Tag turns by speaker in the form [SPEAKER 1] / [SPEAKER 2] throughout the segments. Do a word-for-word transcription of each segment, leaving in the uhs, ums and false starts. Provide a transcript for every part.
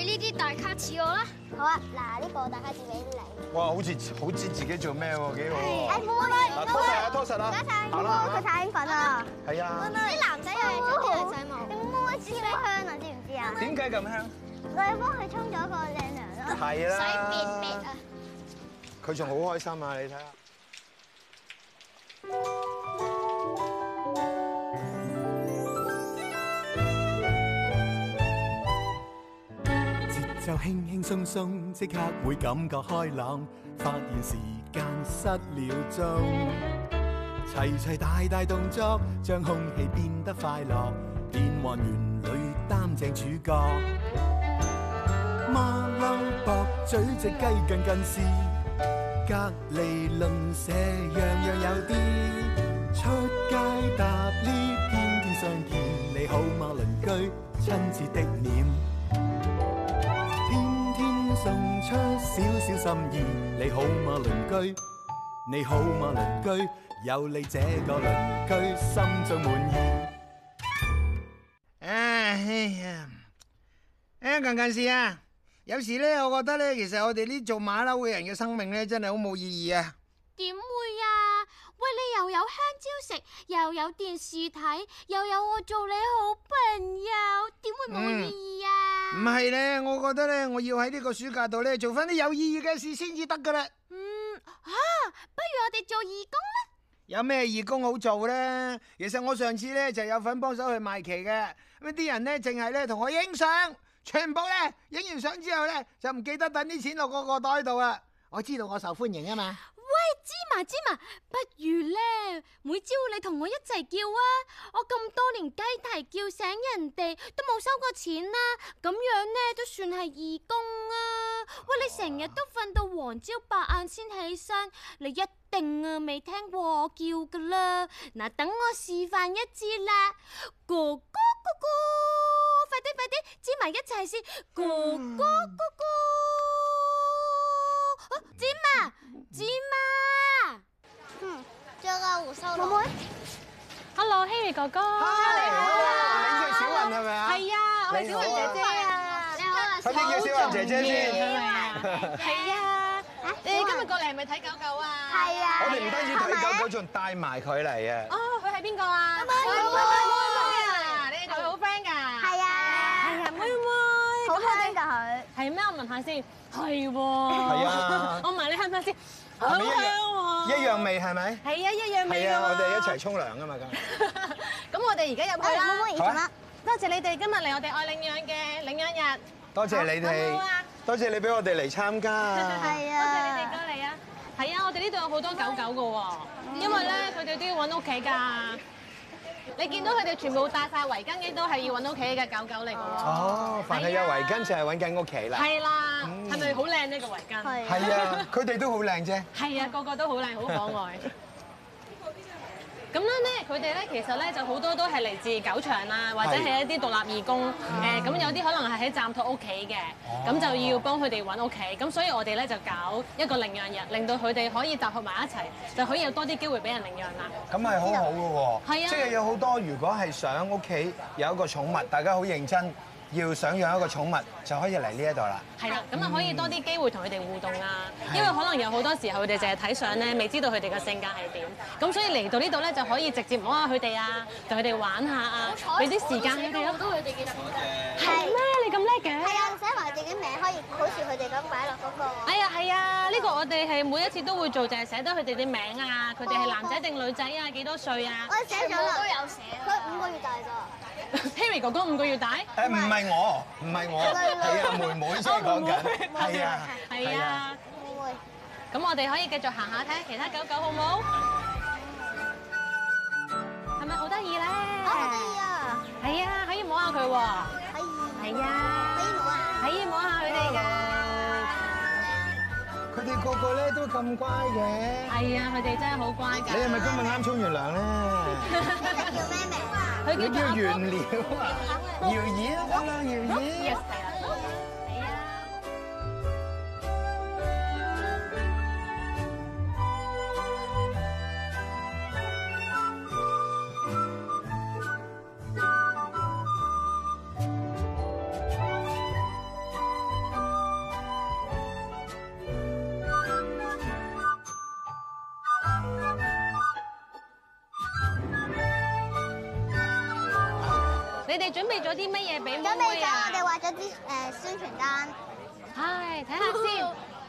[SPEAKER 1] 呢啲大卡士我啦。
[SPEAKER 2] 好啊，嗱呢個大卡士俾你。
[SPEAKER 3] 哇，好似好知自己做咩喎，幾好。
[SPEAKER 2] 誒，妹妹，
[SPEAKER 3] 嗱，拖實啊，拖實啦。
[SPEAKER 2] 唔該晒，
[SPEAKER 3] 好啦，
[SPEAKER 2] 佢太興奮啦。
[SPEAKER 3] 係啊。
[SPEAKER 2] 啲男仔又係做啲女仔冇。妹妹超香啊，知唔知啊？
[SPEAKER 3] 點解咁香？
[SPEAKER 2] 我哋幫佢沖咗個靚涼咯。
[SPEAKER 3] 係啦。
[SPEAKER 1] 洗便便啊！
[SPEAKER 3] 佢仲好開心啊！你睇下。
[SPEAKER 4] 節奏輕輕鬆鬆，即刻會感覺開朗，發現時間失了蹤。齊齊大大動作，將空氣變得快樂，變幻園裏擔正主角。馬騮駁嘴隻雞近近視，隔離鄰舍樣樣有啲。出街搭 lift，天天相見，你好嗎鄰居？親切的臉，天天送出少少心意，你好嗎鄰居？你好嗎鄰居？有你這個鄰居，心中滿意。
[SPEAKER 5] 哎呀，誒近近視啊！有時咧，我覺得咧，其實我哋呢做馬騮嘅人嘅生命咧，真係好冇意義啊！
[SPEAKER 1] 點會啊？喂，你又有香蕉食，又有電視睇，又有我做你好朋友，點會冇意義啊？
[SPEAKER 5] 唔係咧，我覺得咧，我要喺呢個暑假度咧，做翻啲有意義嘅事先至得噶啦。
[SPEAKER 1] 嗯，吓，不如我哋做義工啦。
[SPEAKER 5] 有咩義工好做咧？其實我上次咧就有份幫手去賣旗嘅，咁啲人咧淨係咧同我影相，全部咧影完相之後咧就唔記得等啲錢落嗰個袋度啊！我知道我受歡迎啊嘛。
[SPEAKER 1] 喂，芝麻芝麻，不如咧每朝你同我一齊叫啊！我咁多年雞啼叫醒人哋都冇收過錢啦，咁樣咧都算係義工啊！喂，你成日都瞓到黃朝白晏先起身，你一定啊未聽過我叫噶啦！嗱，等我示範一次啦，哥哥哥哥，快啲快啲，芝麻一齊先，哥哥哥哥。芝麻，芝麻，
[SPEAKER 2] 嗯，仲有個胡鬚佬。妹妹
[SPEAKER 6] ，Hello，Harry 哥哥。
[SPEAKER 5] 你好啊，你即係小雲係咪啊？
[SPEAKER 6] 係啊，我係小雲姐姐啊。
[SPEAKER 2] 你好啊，
[SPEAKER 5] 快啲叫小雲姐姐先。
[SPEAKER 6] 係啊，你今日過嚟係咪睇狗狗啊？
[SPEAKER 2] 係啊。
[SPEAKER 5] 我哋唔單止睇狗狗，仲帶埋佢嚟啊！
[SPEAKER 6] 哦，佢係邊個啊？妹妹，妹妹啊，你哋同佢好 friend 㗎？
[SPEAKER 2] 係啊。
[SPEAKER 6] 係啊，妹妹。
[SPEAKER 2] 好聽㗎佢。
[SPEAKER 6] 係咩？我問下先。係喎。
[SPEAKER 5] 係啊。
[SPEAKER 6] 我問你香唔香先？好
[SPEAKER 5] 係咪
[SPEAKER 6] 香喎。
[SPEAKER 5] 一樣味係咪？
[SPEAKER 6] 係啊，一樣味㗎。
[SPEAKER 5] 係啊，我哋一齊沖涼㗎嘛咁。
[SPEAKER 6] 咁我哋而家入去啦。
[SPEAKER 2] 妹妹，而家
[SPEAKER 6] 多謝你哋今日嚟我哋愛領養嘅領養日。
[SPEAKER 5] 多謝你哋，多謝你俾我哋嚟參加。
[SPEAKER 2] 係啊。
[SPEAKER 6] 多謝你哋過嚟啊！係啊，我哋呢度有好多狗狗㗎喎，因為咧佢哋都要揾屋企㗎。你見到佢哋全部戴晒圍巾嘅，都係要揾屋企嘅狗狗嚟㗎喎。
[SPEAKER 5] 哦，凡係有圍巾就係揾緊屋企啦。
[SPEAKER 6] 係啦，係咪好靚呢個圍巾？
[SPEAKER 2] 係。
[SPEAKER 5] 係啊，佢哋都好靚啫。
[SPEAKER 6] 係啊，個個都好靚，好可愛。咁樣咧，佢哋咧其實咧就好多都係嚟自狗場啦，或者係一啲獨立義工。誒，咁有啲可能係喺暫託屋企嘅，咁就要幫佢哋揾屋企。咁所以我哋咧就搞一個領養日，令到佢哋可以集合埋一齊，就可以有多啲機會俾人領養啦。
[SPEAKER 5] 咁係好好嘅喎。
[SPEAKER 6] 係啊。
[SPEAKER 5] 即係有好多，如果係想屋企有一個寵物，大家好認真，要想養一個寵物，就可以嚟呢一度啦。
[SPEAKER 6] 係啦，咁啊可以多啲機會同佢哋互動啊，因為可能有好多時候佢哋淨係睇相咧，未知道佢哋嘅性格係點。咁所以嚟到呢度咧，就可以直接摸下佢哋啊，同佢哋玩下啊，俾啲時間佢哋咯。
[SPEAKER 1] 佢哋嘅
[SPEAKER 6] 係咩？你咁叻嘅？
[SPEAKER 2] 係啊，寫埋自己名可以好似佢哋咁擺落嗰個。
[SPEAKER 6] 哎呀，係啊，呢個我哋係每一次都會做，就係寫得佢哋啲名啊，佢哋係男仔定女仔啊，幾多歲啊？
[SPEAKER 2] 我寫咗啦，
[SPEAKER 1] 都有寫。
[SPEAKER 2] 佢五個月大咋。
[SPEAKER 6] Harry 哥哥五個月大？
[SPEAKER 5] 誒唔係我，唔係我，係啊妹妹先講緊，係啊，
[SPEAKER 6] 係啊。
[SPEAKER 2] 妹妹。
[SPEAKER 6] 咁我哋可以繼續行下睇下其他狗狗好唔好？係咪好得意咧？
[SPEAKER 2] 啊，好得意啊！
[SPEAKER 6] 係啊，可以摸下佢喎。
[SPEAKER 2] 可以。
[SPEAKER 6] 係啊。
[SPEAKER 2] 可以摸啊！
[SPEAKER 6] 可以摸下佢哋㗎。
[SPEAKER 5] 佢哋個個咧都咁乖嘅。
[SPEAKER 6] 係啊，佢哋真係好乖㗎。
[SPEAKER 5] 你係咪今日啱沖完涼咧？
[SPEAKER 2] 你叫咩名啊？
[SPEAKER 5] 佢叫原料啊，瑤兒啊，得啦，瑤兒。
[SPEAKER 6] 你哋準備咗啲乜嘢俾妹妹啊？
[SPEAKER 2] 準備咗，我哋畫咗啲誒宣傳單。
[SPEAKER 6] 係，睇下先。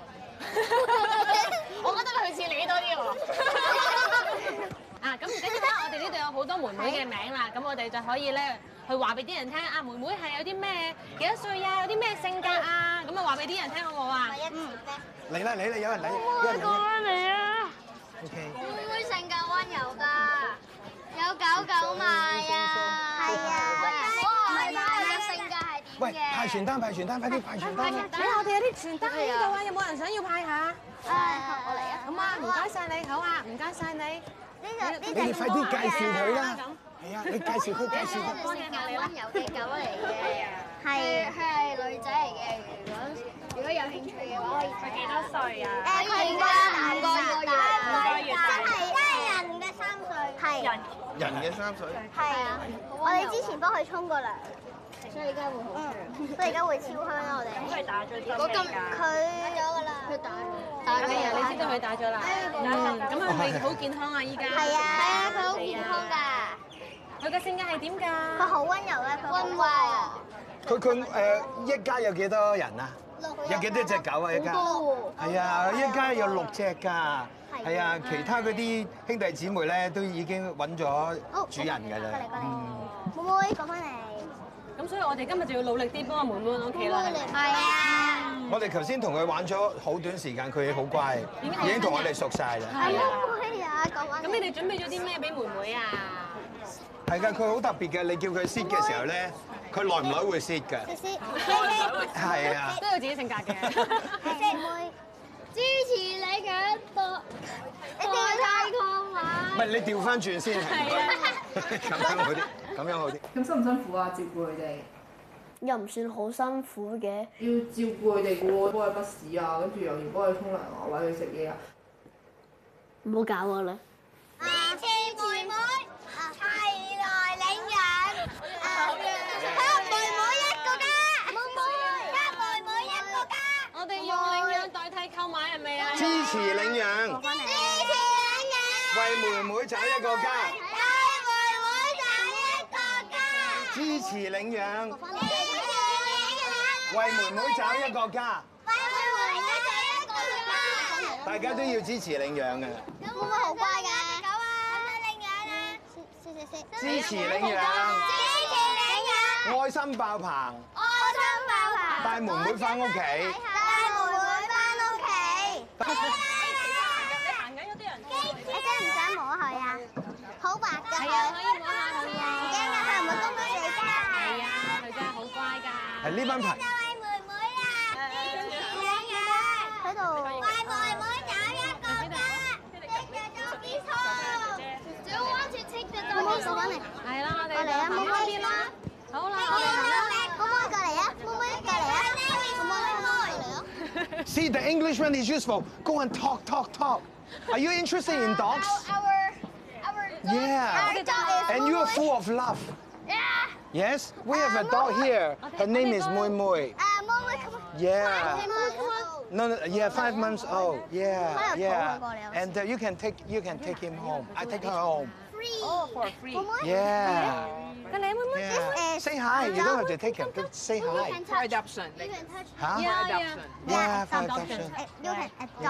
[SPEAKER 6] 我覺得佢似你多啲喎。啊，咁唔緊要啦，我哋呢度有好多妹妹嘅名啦，咁我哋就可以咧去話俾啲人聽啊，妹妹係有啲咩幾多歲啊，有啲咩性格啊，咁啊話俾啲人聽好唔好啊？
[SPEAKER 2] 嗯。
[SPEAKER 3] 嚟啦嚟啦，有人嚟，有人嚟。
[SPEAKER 6] 嚟啊
[SPEAKER 3] OK。
[SPEAKER 2] 妹妹性格溫柔㗎，有狗狗賣啊。係啊。我係賣嘅性格係點嘅？
[SPEAKER 3] 喂，派傳單派傳單，快啲派傳單啦！
[SPEAKER 6] 睇下我哋有啲傳單喺呢度啊，有冇人想要派下？
[SPEAKER 2] 誒，我嚟啊。
[SPEAKER 6] 好啊，唔該晒你，好啊，唔該晒你。
[SPEAKER 2] 呢個呢
[SPEAKER 3] 你哋快啲介紹佢啦！係啊，你介紹佢，介紹佢。
[SPEAKER 2] 係性格溫柔嘅狗嚟嘅，係佢係女仔嚟嘅。如果如果有興趣嘅話，可以睇。佢幾多歲啊？誒，佢而家五個月，五個月，真係真係人嘅三歲，係人
[SPEAKER 3] 人嘅三歲。
[SPEAKER 2] 係啊！我哋之前幫佢沖過涼，所以而家會好香。所以而家會超香啦！我哋。佢打咗針未㗎？佢打咗㗎啦。佢打咗。打咗
[SPEAKER 6] 係啊，你知道佢打咗啦。嗯，咁係咪好健康啊？依家。
[SPEAKER 2] 係啊，係啊，佢好健康㗎。
[SPEAKER 6] 佢嘅性格係點㗎？
[SPEAKER 2] 佢好溫柔咧，佢溫和。
[SPEAKER 3] 佢佢誒一家有幾多人啊？有幾多隻狗啊？一家？係啊，一家有六隻㗎。係啊，其他嗰啲兄弟姊妹咧都已經揾咗主人㗎啦。嗯。
[SPEAKER 2] 妹妹講翻嚟。
[SPEAKER 6] 咁所以我哋今日就要努力啲幫阿妹妹揾屋企啦。
[SPEAKER 2] 係啊。
[SPEAKER 3] 我哋頭先同佢玩咗好短時間，佢好乖，已經同我哋熟晒啦。
[SPEAKER 2] 係啊。妹妹啊，講翻。
[SPEAKER 6] 咁你哋準備咗啲咩俾妹妹啊？
[SPEAKER 3] 係㗎，佢好特別嘅。你叫佢 sit 嘅時候咧，佢耐唔耐會 sit 㗎。係啊。
[SPEAKER 6] 都有自己性格嘅。
[SPEAKER 2] 妹妹。支持你嘅博代替抗馬。
[SPEAKER 3] 唔係你調翻轉先，
[SPEAKER 6] 係啊。
[SPEAKER 3] 咁樣好啲，咁樣好啲。
[SPEAKER 7] 咁辛唔辛苦啊？照顧佢哋？
[SPEAKER 2] 又唔算好辛苦嘅。
[SPEAKER 7] 要照顧佢哋嘅喎，幫佢筆屎啊，跟住又要幫佢沖涼啊，餵佢食嘢啊。
[SPEAKER 2] 唔好搞我啦！支持妹妹，齊來領養，給妹妹一個家，妹妹，給妹妹一個家。
[SPEAKER 6] 我哋用領養代替購買係咪啊？
[SPEAKER 3] 支持領養，
[SPEAKER 2] 支持領養，
[SPEAKER 3] 為妹妹找一個家。
[SPEAKER 2] 為妹妹找一個家。
[SPEAKER 3] 支持領養，
[SPEAKER 2] 支持領養，
[SPEAKER 3] 為妹妹找一個家。
[SPEAKER 2] 為妹妹找一個家。
[SPEAKER 3] 大家都要支持領養嘅。
[SPEAKER 2] 妹妹好乖㗎。狗啊！領養啊！謝謝謝。
[SPEAKER 3] 支持領養，
[SPEAKER 2] 支持領養，
[SPEAKER 3] 愛心爆棚，
[SPEAKER 2] 愛心爆棚，
[SPEAKER 3] 帶妹妹返屋企。
[SPEAKER 2] 帶妹妹返屋企。
[SPEAKER 6] 你行緊有啲人。
[SPEAKER 2] 你真係唔想摸佢啊？好白㗎佢。
[SPEAKER 6] 係啊，可以摸下佢啊。
[SPEAKER 2] 唔驚㗎，佢唔會攻擊你㗎。
[SPEAKER 6] 係啊，佢真係好乖㗎。
[SPEAKER 3] 係呢班朋
[SPEAKER 2] 就係妹妹啊！領養喺度。為妹妹找一個家。Take the doggy home. Do you want to take the doggy home?
[SPEAKER 6] 係啦，我哋
[SPEAKER 2] 過嚟啊，妹妹
[SPEAKER 6] 邊啦。好啦，
[SPEAKER 2] 妹妹過嚟啊，妹妹過嚟啊，妹妹過嚟啊。
[SPEAKER 3] See, the Englishman is useful. Go and talk, talk, talk. Are you interested in dogs?
[SPEAKER 2] Our, our dog,
[SPEAKER 3] Yeah.
[SPEAKER 2] our dog is
[SPEAKER 3] And you are full of love.
[SPEAKER 2] Yeah.
[SPEAKER 3] Yes? We have a dog here. Her name is Mui Mui.
[SPEAKER 2] Uh, Mui, come on.
[SPEAKER 3] Yeah.
[SPEAKER 2] Come on, come on.
[SPEAKER 3] No, no, yeah, five months old. Yeah,
[SPEAKER 2] Why
[SPEAKER 3] yeah.
[SPEAKER 2] are you
[SPEAKER 3] And uh, you can take you can take him home. I take her home.
[SPEAKER 2] Free.
[SPEAKER 6] Oh, for free.
[SPEAKER 2] Mui,
[SPEAKER 3] Yeah.
[SPEAKER 6] 佢你妹妹
[SPEAKER 3] Yeah. Say hi. You don't have to take him. Just say
[SPEAKER 2] you
[SPEAKER 3] hi.
[SPEAKER 2] can touch.
[SPEAKER 7] adoption
[SPEAKER 2] You can touch.
[SPEAKER 3] Huh?
[SPEAKER 6] Yeah, yeah.
[SPEAKER 3] Yeah, for
[SPEAKER 6] Adoption.
[SPEAKER 3] adoption.
[SPEAKER 2] Uh, You can adopt.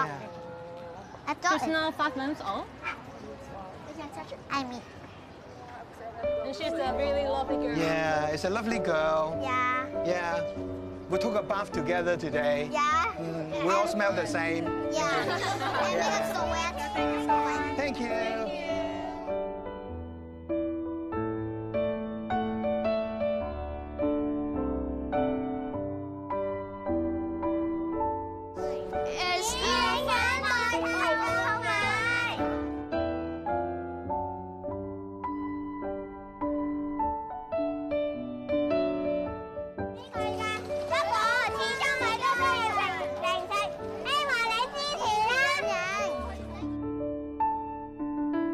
[SPEAKER 3] Yeah.
[SPEAKER 2] Adopt.
[SPEAKER 6] She's now five months old.
[SPEAKER 2] You can touch. I mean.
[SPEAKER 6] And she's a really lovely girl.
[SPEAKER 3] Yeah, it's a lovely girl.
[SPEAKER 2] Yeah.
[SPEAKER 3] Yeah. We took a bath together today.
[SPEAKER 2] Yeah.
[SPEAKER 3] Mm, we all smell the same.
[SPEAKER 2] Yeah. And it's so wet. So wet.
[SPEAKER 3] Thank you.
[SPEAKER 2] It's 領養代替購買。呢個㗎，不過始終咪都需要零零食，希望你支持啦。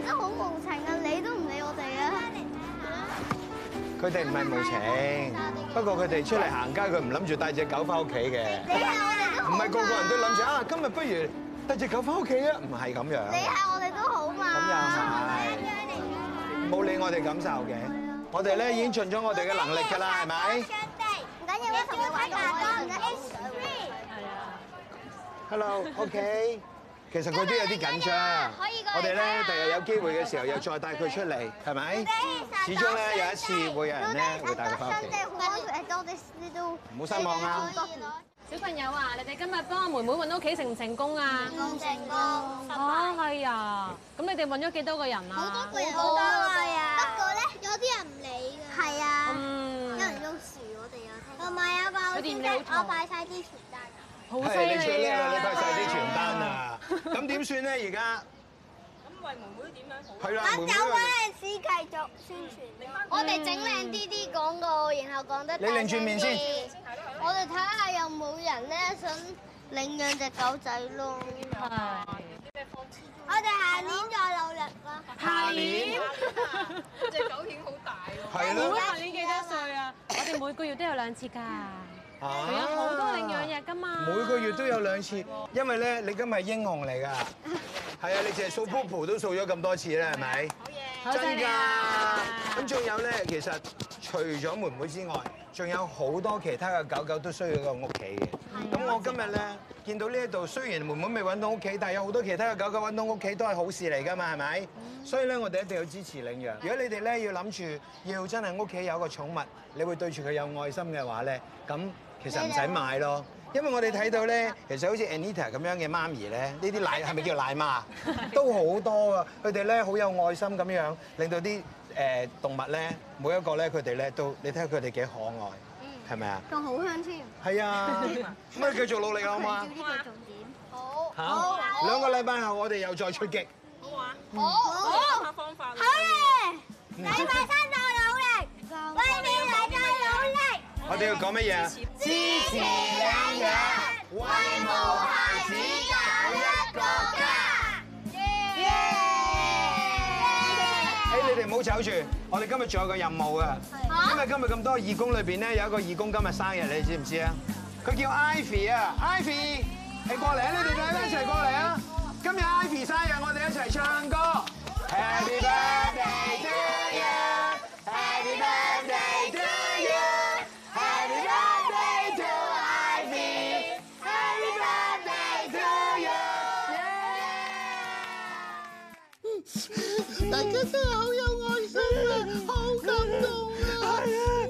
[SPEAKER 2] 真係好無情啊！你都唔理我哋啊！
[SPEAKER 3] 佢哋唔係無情，不過佢哋出嚟行街，佢唔諗住帶隻狗翻屋企嘅。
[SPEAKER 2] 你係我哋都
[SPEAKER 3] 唔係個個人都諗住啊！今日不如帶隻狗翻屋企啊！唔係咁樣。
[SPEAKER 2] 你係我哋都好嘛？
[SPEAKER 3] 咁又係，冇理我哋感受嘅。我哋咧已經盡咗我哋嘅能力㗎啦，係咪？
[SPEAKER 2] 唔緊要，我同你玩多啲。
[SPEAKER 3] Hello，OK。其實佢都有啲緊張。我哋咧第日有機會嘅時候又再帶佢出嚟，係咪？始終咧有一次會有人咧會帶佢翻屋企。唔好失望啊！
[SPEAKER 6] 小朋友啊，你哋今日幫阿妹妹揾屋企成唔成功啊？
[SPEAKER 2] 唔成功。
[SPEAKER 6] 啊，係啊。咁你哋揾咗幾多個人啊？
[SPEAKER 2] 好多個人。好多個啊！不過咧，有啲人唔理㗎。係啊。
[SPEAKER 6] 嗯。
[SPEAKER 2] 有人用樹，我哋有聽。同埋有個好先得，我擺曬啲傳單。
[SPEAKER 6] 好犀
[SPEAKER 3] 係你最
[SPEAKER 6] 利
[SPEAKER 3] 叻啦！
[SPEAKER 6] 啊！
[SPEAKER 3] 你派晒啲傳單啊！咁點算咧？而家
[SPEAKER 8] 咁為妹妹點樣好？
[SPEAKER 3] 係啦，妹妹
[SPEAKER 2] 有嗰陣時繼續宣傳。我哋整靚啲啲廣告，然後講得
[SPEAKER 3] 你擰轉面先。
[SPEAKER 2] 我哋睇下有冇人咧想領養隻狗仔咯。
[SPEAKER 6] 係。
[SPEAKER 2] 我哋下年再努力啦。
[SPEAKER 6] 下年。
[SPEAKER 8] 隻狗犬好大喎。
[SPEAKER 3] 係
[SPEAKER 6] 妹妹
[SPEAKER 3] 咯。
[SPEAKER 6] 下年幾多歲啊？我哋每個月都有兩次㗎。
[SPEAKER 3] 啊
[SPEAKER 6] 佢有好多領養日㗎嘛。
[SPEAKER 3] 每個月都有兩次，因為咧你今日係英雄嚟㗎。係啊，你淨係掃 popo 都掃咗咁多次啦，係咪？
[SPEAKER 6] 好嘢。
[SPEAKER 3] 真㗎。咁仲有咧，其實除咗妹妹之外，仲有好多其他嘅狗狗都需要一個屋企嘅。咁我今日咧見到呢一度，雖然妹妹未揾到屋企，但係有好多其他嘅狗狗揾到屋企都係好事嚟㗎嘛，係咪？所以咧，我哋一定要支持領養。如果你哋咧要諗住要真係屋企有個寵物，你會對住佢有愛心嘅話咧，咁其實唔使買咯。因為我哋睇到咧，其實好似 Anita 咁樣嘅媽咪咧，呢啲奶係咪叫奶媽？都好多啊！佢哋咧好有愛心咁樣，令到啲誒動物咧，每一個咧佢哋咧都，你睇下佢哋幾可愛，係咪啊？
[SPEAKER 2] 仲好香添。
[SPEAKER 3] 係啊，咁啊繼續努力好嘛？
[SPEAKER 2] 呢個重點。好。
[SPEAKER 3] 好。兩個禮拜後我哋又再出擊。
[SPEAKER 8] 好啊。
[SPEAKER 2] 好。好。
[SPEAKER 8] 下方法。
[SPEAKER 2] 好咧！禮拜三再努力，為未來再努力。
[SPEAKER 3] 我哋要講乜嘢啊？
[SPEAKER 2] 支持領養，為無孩子搞一個家。耶！
[SPEAKER 3] 誒，你哋唔好走住，我哋今日仲有個任務啊！因為今日咁多義工裏邊咧，有一個義工今日生日，你知唔知啊？佢叫 Ivy 啊 ，Ivy，係過嚟啊！你哋兩個一齊過嚟啊！今日 Ivy 生日，我哋一齊唱歌。Happy birthday to you，Happy birthday to you，Happy birthday to Ivy，Happy birthday to you。大家真係好有愛心啊，好感動啊！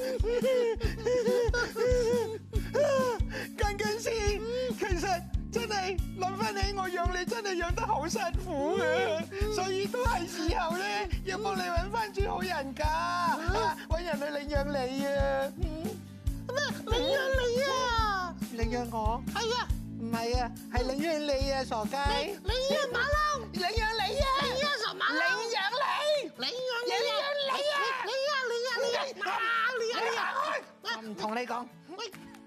[SPEAKER 3] 近近先，其實真係諗翻起我養你真係養得好辛苦嘅，所以都係時候咧要幫你揾翻轉好人家，揾人去領養你啊！咩？領養你啊？領養我？係啊，唔係啊，係領養你啊，傻雞！領養馬騮？領養你啊！領養傻馬騮？領養你！領養你！領養你啊！領養你啊！領養馬騮！領養你啊！我唔同你講，喂。